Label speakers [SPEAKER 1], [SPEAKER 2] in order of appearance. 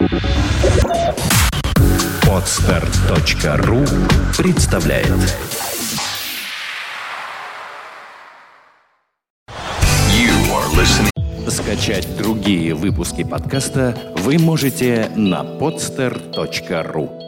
[SPEAKER 1] Podster.ru представляет. Скачать другие выпуски подкаста вы можете на podster.ru.